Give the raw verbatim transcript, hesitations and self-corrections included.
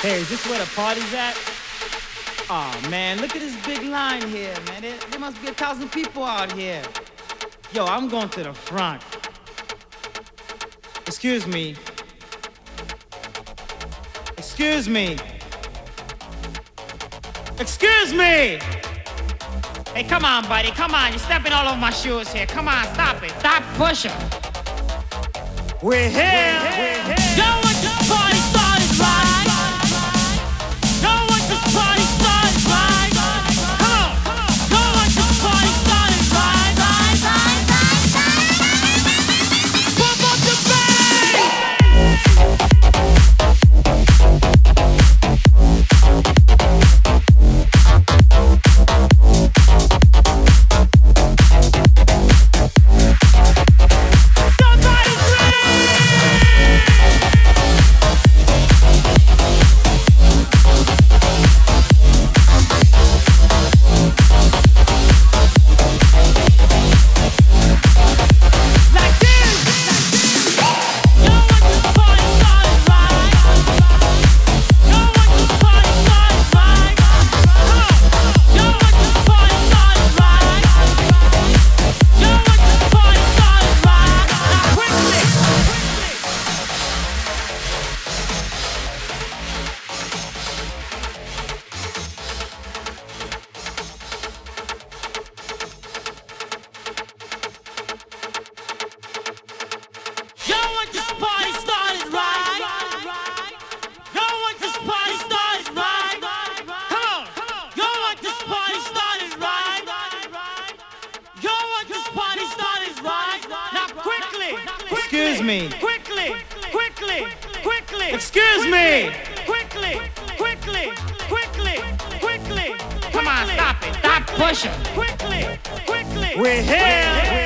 Hey, is this where the party's at? Oh man, look at this big line here, man. There, there must be a thousand people out here. Yo, I'm going to the front. Excuse me. Excuse me. Excuse me! Hey, come on, buddy, come on. You're stepping all over my shoes here. Come on, stop it. Stop pushing. We're here. We're here. Yo, what this party started right? Yo, what this party started right? Come on. Yo, what this party started right? Right, right, right, right. Pump up the Excuse me. Quickly, quickly, quickly. Excuse me. Quickly, quickly, quickly, quickly. Come on, stop it. Stop pushing. Quickly, quickly. We're here.